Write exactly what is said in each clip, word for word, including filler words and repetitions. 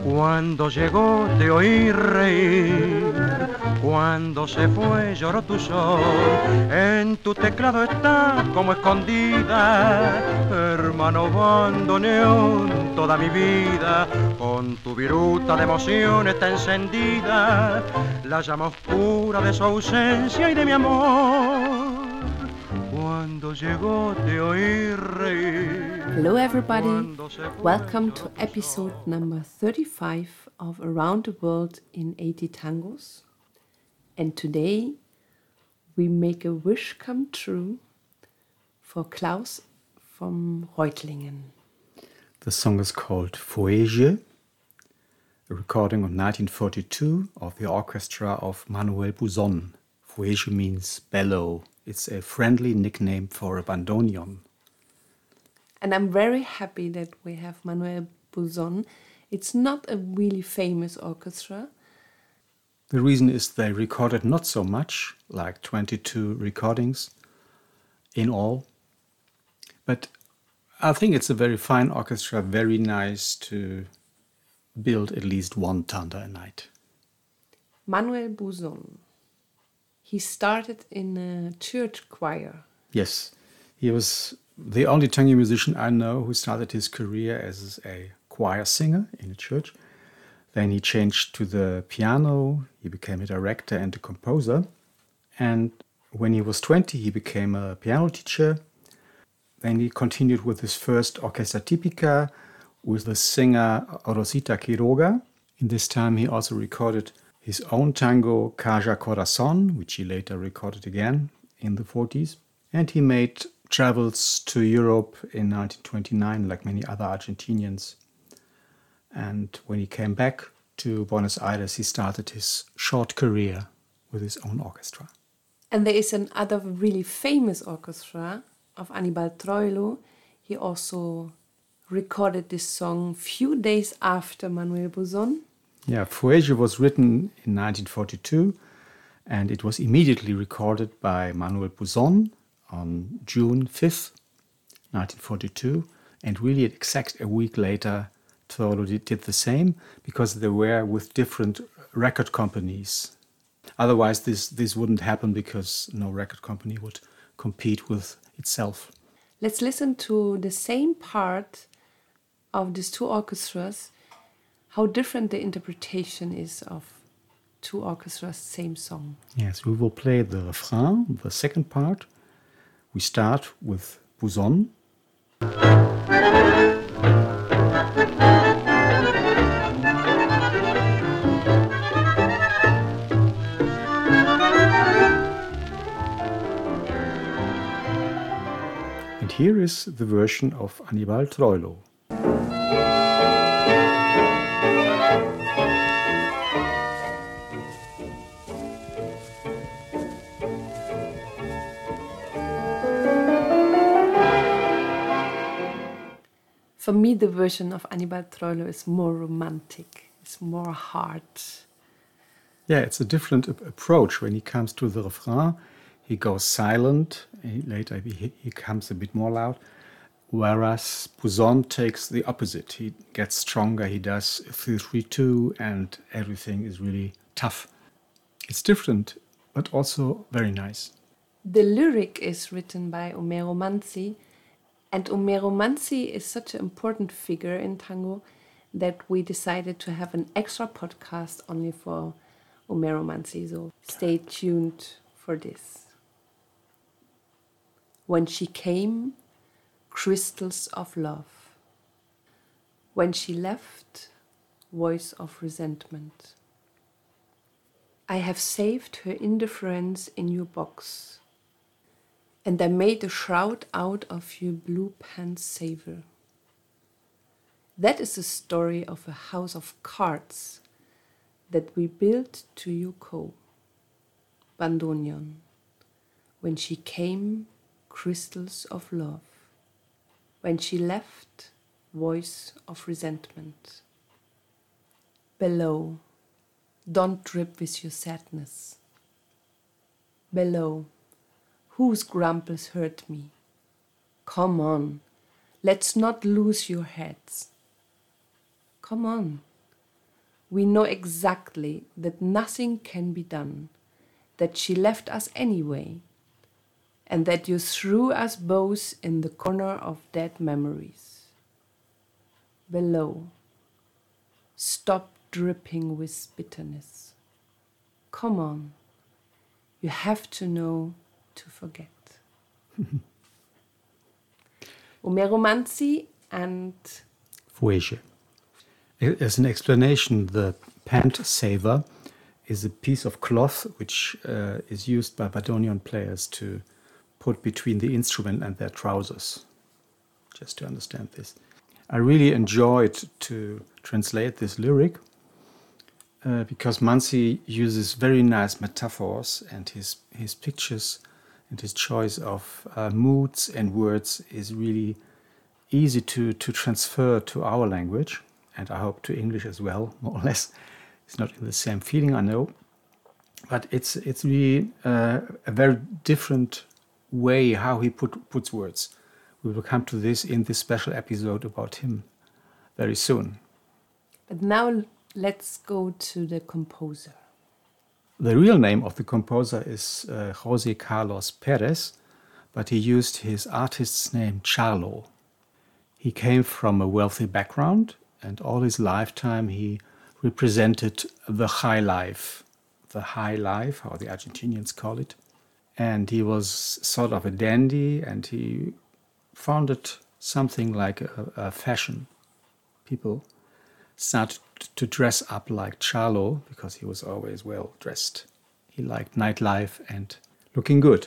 Cuando llegó te oí reír, cuando se fue lloró tu sol, en tu teclado está como escondida, hermano bandoneón, toda mi vida, con tu viruta de emoción está encendida, la llama oscura de su ausencia y de mi amor. Cuando llegó te oí reír. Hello everybody, welcome to episode number thirty-five of Around the World in eighty Tangos. And today we make a wish come true for Klaus from Reutlingen. The song is called Foege, a recording of nineteen forty-two of the orchestra of Manuel Buson. Foege means bellow. It's a friendly nickname for a bandoneon. And I'm very happy that we have Manuel Buson. It's not a really famous orchestra. The reason is they recorded not so much, like twenty-two recordings in all. But I think it's a very fine orchestra, very nice to build at least one tanda a night. Manuel Buson. He started in a church choir. Yes, he was the only tango musician I know who started his career as a choir singer in a church. Then he changed to the piano, he became a director and a composer. And when he was twenty, he became a piano teacher. Then he continued with his first Orchestra Típica with the singer Rosita Quiroga. In this time, he also recorded his own tango, Caja Corazón, which he later recorded again in the forties. And he made travels to Europe in nineteen twenty-nine, like many other Argentinians. And when he came back to Buenos Aires, he started his short career with his own orchestra. And there is another really famous orchestra of Aníbal Troilo. He also recorded this song few days after Manuel Buson. Yeah, Foege was written in nineteen forty-two, and it was immediately recorded by Manuel Buson on June fifth, nineteen forty-two. And really exact a week later, Troilo did, did the same, because they were with different record companies. Otherwise, this, this wouldn't happen, because no record company would compete with itself. Let's listen to the same part of these two orchestras, how different the interpretation is of two orchestras, same song. Yes, we will play the refrain, the second part. We start with Buson. And here is the version of Aníbal Troilo. For me, the version of Aníbal Troilo is more romantic, it's more hard. Yeah, it's a different ap- approach. When he comes to the refrain, he goes silent. He, later he, he comes a bit more loud. Whereas Buson takes the opposite. He gets stronger, he does three three two, and everything is really tough. It's different, but also very nice. The lyric is written by Homero Manzi, and Homero Manzi is such an important figure in tango that we decided to have an extra podcast only for Homero Manzi, so stay tuned for this. When she came, crystals of love. When she left, voice of resentment. I have saved her indifference in your box, and I made a shroud out of your blue pants savor. That is the story of a house of cards that we built to Yuko, bandoneon. When she came, crystals of love. When she left, voice of resentment. Below, don't drip with your sadness. Below, whose grumples hurt me? Come on, let's not lose your heads. Come on, we know exactly that nothing can be done, that she left us anyway, and that you threw us both in the corner of dead memories. Below, stop dripping with bitterness. Come on, you have to know to forget. Omer Manzi and Fuege. As an explanation, the pant saver is a piece of cloth which uh, is used by bandoneon players to put between the instrument and their trousers, just to understand this. I really enjoyed to translate this lyric uh, because Manzi uses very nice metaphors, and his, his pictures and his choice of uh, moods and words is really easy to, to transfer to our language, and I hope to English as well, more or less. It's not in the same feeling, I know, but it's it's really uh, a very different way how he put, puts words. We will come to this in this special episode about him very soon. But now let's go to the composer. The real name of the composer is uh, José Carlos Pérez, but he used his artist's name Charlo. He came from a wealthy background, and all his lifetime he represented the high life, the high life, how the Argentinians call it. And he was sort of a dandy, and he founded something like a, a fashion. People started to dress up like Charlo because he was always well dressed. He liked nightlife and looking good.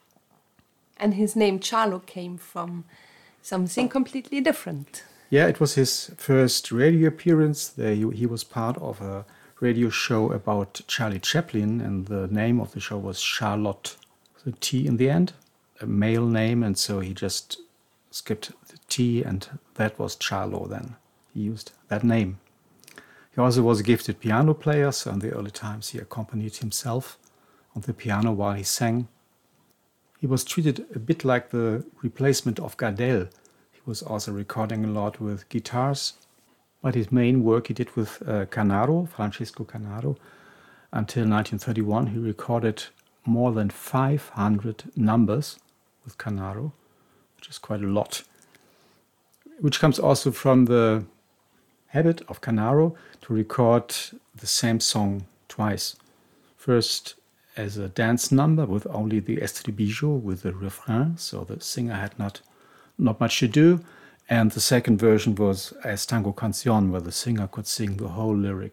And his name Charlo came from something completely different. Yeah, it was his first radio appearance. There he, he was part of a radio show about Charlie Chaplin, and the name of the show was Charlotte, the T in the end, a male name, and so he just skipped the T, and that was Charlo then. He used that name. He also was a gifted piano player, so in the early times he accompanied himself on the piano while he sang. He was treated a bit like the replacement of Gardel. He was also recording a lot with guitars, but his main work he did with uh, Canaro, Francisco Canaro. Until nineteen thirty-one, he recorded more than five hundred numbers with Canaro, which is quite a lot, which comes also from the habit of Canaro to record the same song twice. First as a dance number with only the estribillo, with the refrain, so the singer had not, not much to do. And the second version was as tango canción, where the singer could sing the whole lyric.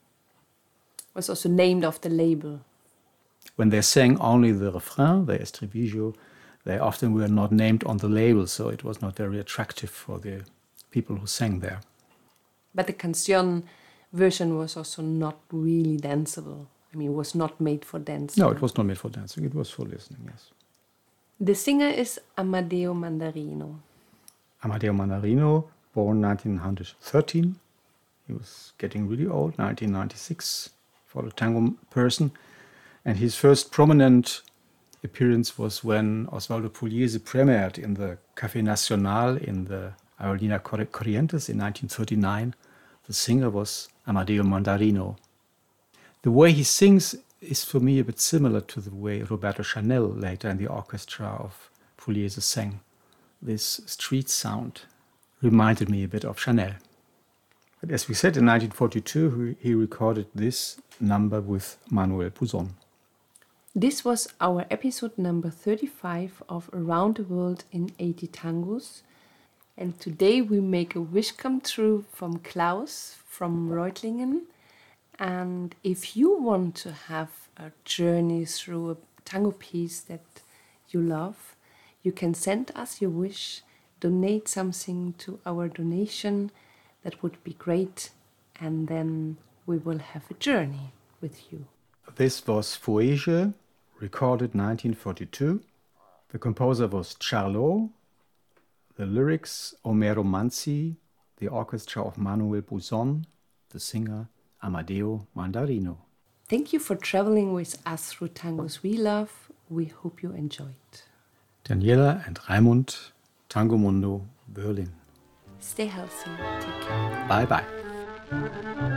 Was also named after the label. When they sang only the refrain, the estribillo, they often were not named on the label, so it was not very attractive for the people who sang there. But the canción version was also not really danceable. I mean, it was not made for dancing. No, it was not made for dancing. It was for listening, yes. The singer is Amadeo Mandarino. Amadeo Mandarino, born nineteen thirteen. He was getting really old, nineteen ninety-six, for a tango person. And his first prominent appearance was when Osvaldo Pugliese premiered in the Café Nacional in the Aerolínea Corrientes in nineteen thirty-nine. The singer was Amadeo Mandarino. The way he sings is for me a bit similar to the way Roberto Chanel later in the orchestra of Pugliese sang. This street sound reminded me a bit of Chanel. But as we said, in nineteen forty-two, he recorded this number with Manuel Buzón. This was our episode number thirty-five of Around the World in eighty Tangos. And today we make a wish come true from Klaus from Reutlingen. And if you want to have a journey through a tango piece that you love, you can send us your wish, donate something to our donation. That would be great. And then we will have a journey with you. This was Fuege, recorded nineteen forty-two. The composer was Charlo. The lyrics, Omer Manzi. The orchestra of Manuel Buzón. The singer, Amadeo Mandarino. Thank you for traveling with us through tangos we love. We hope you enjoyed. Daniela and Raimund, Tango Mundo, Berlin. Stay healthy. Take care. Bye bye.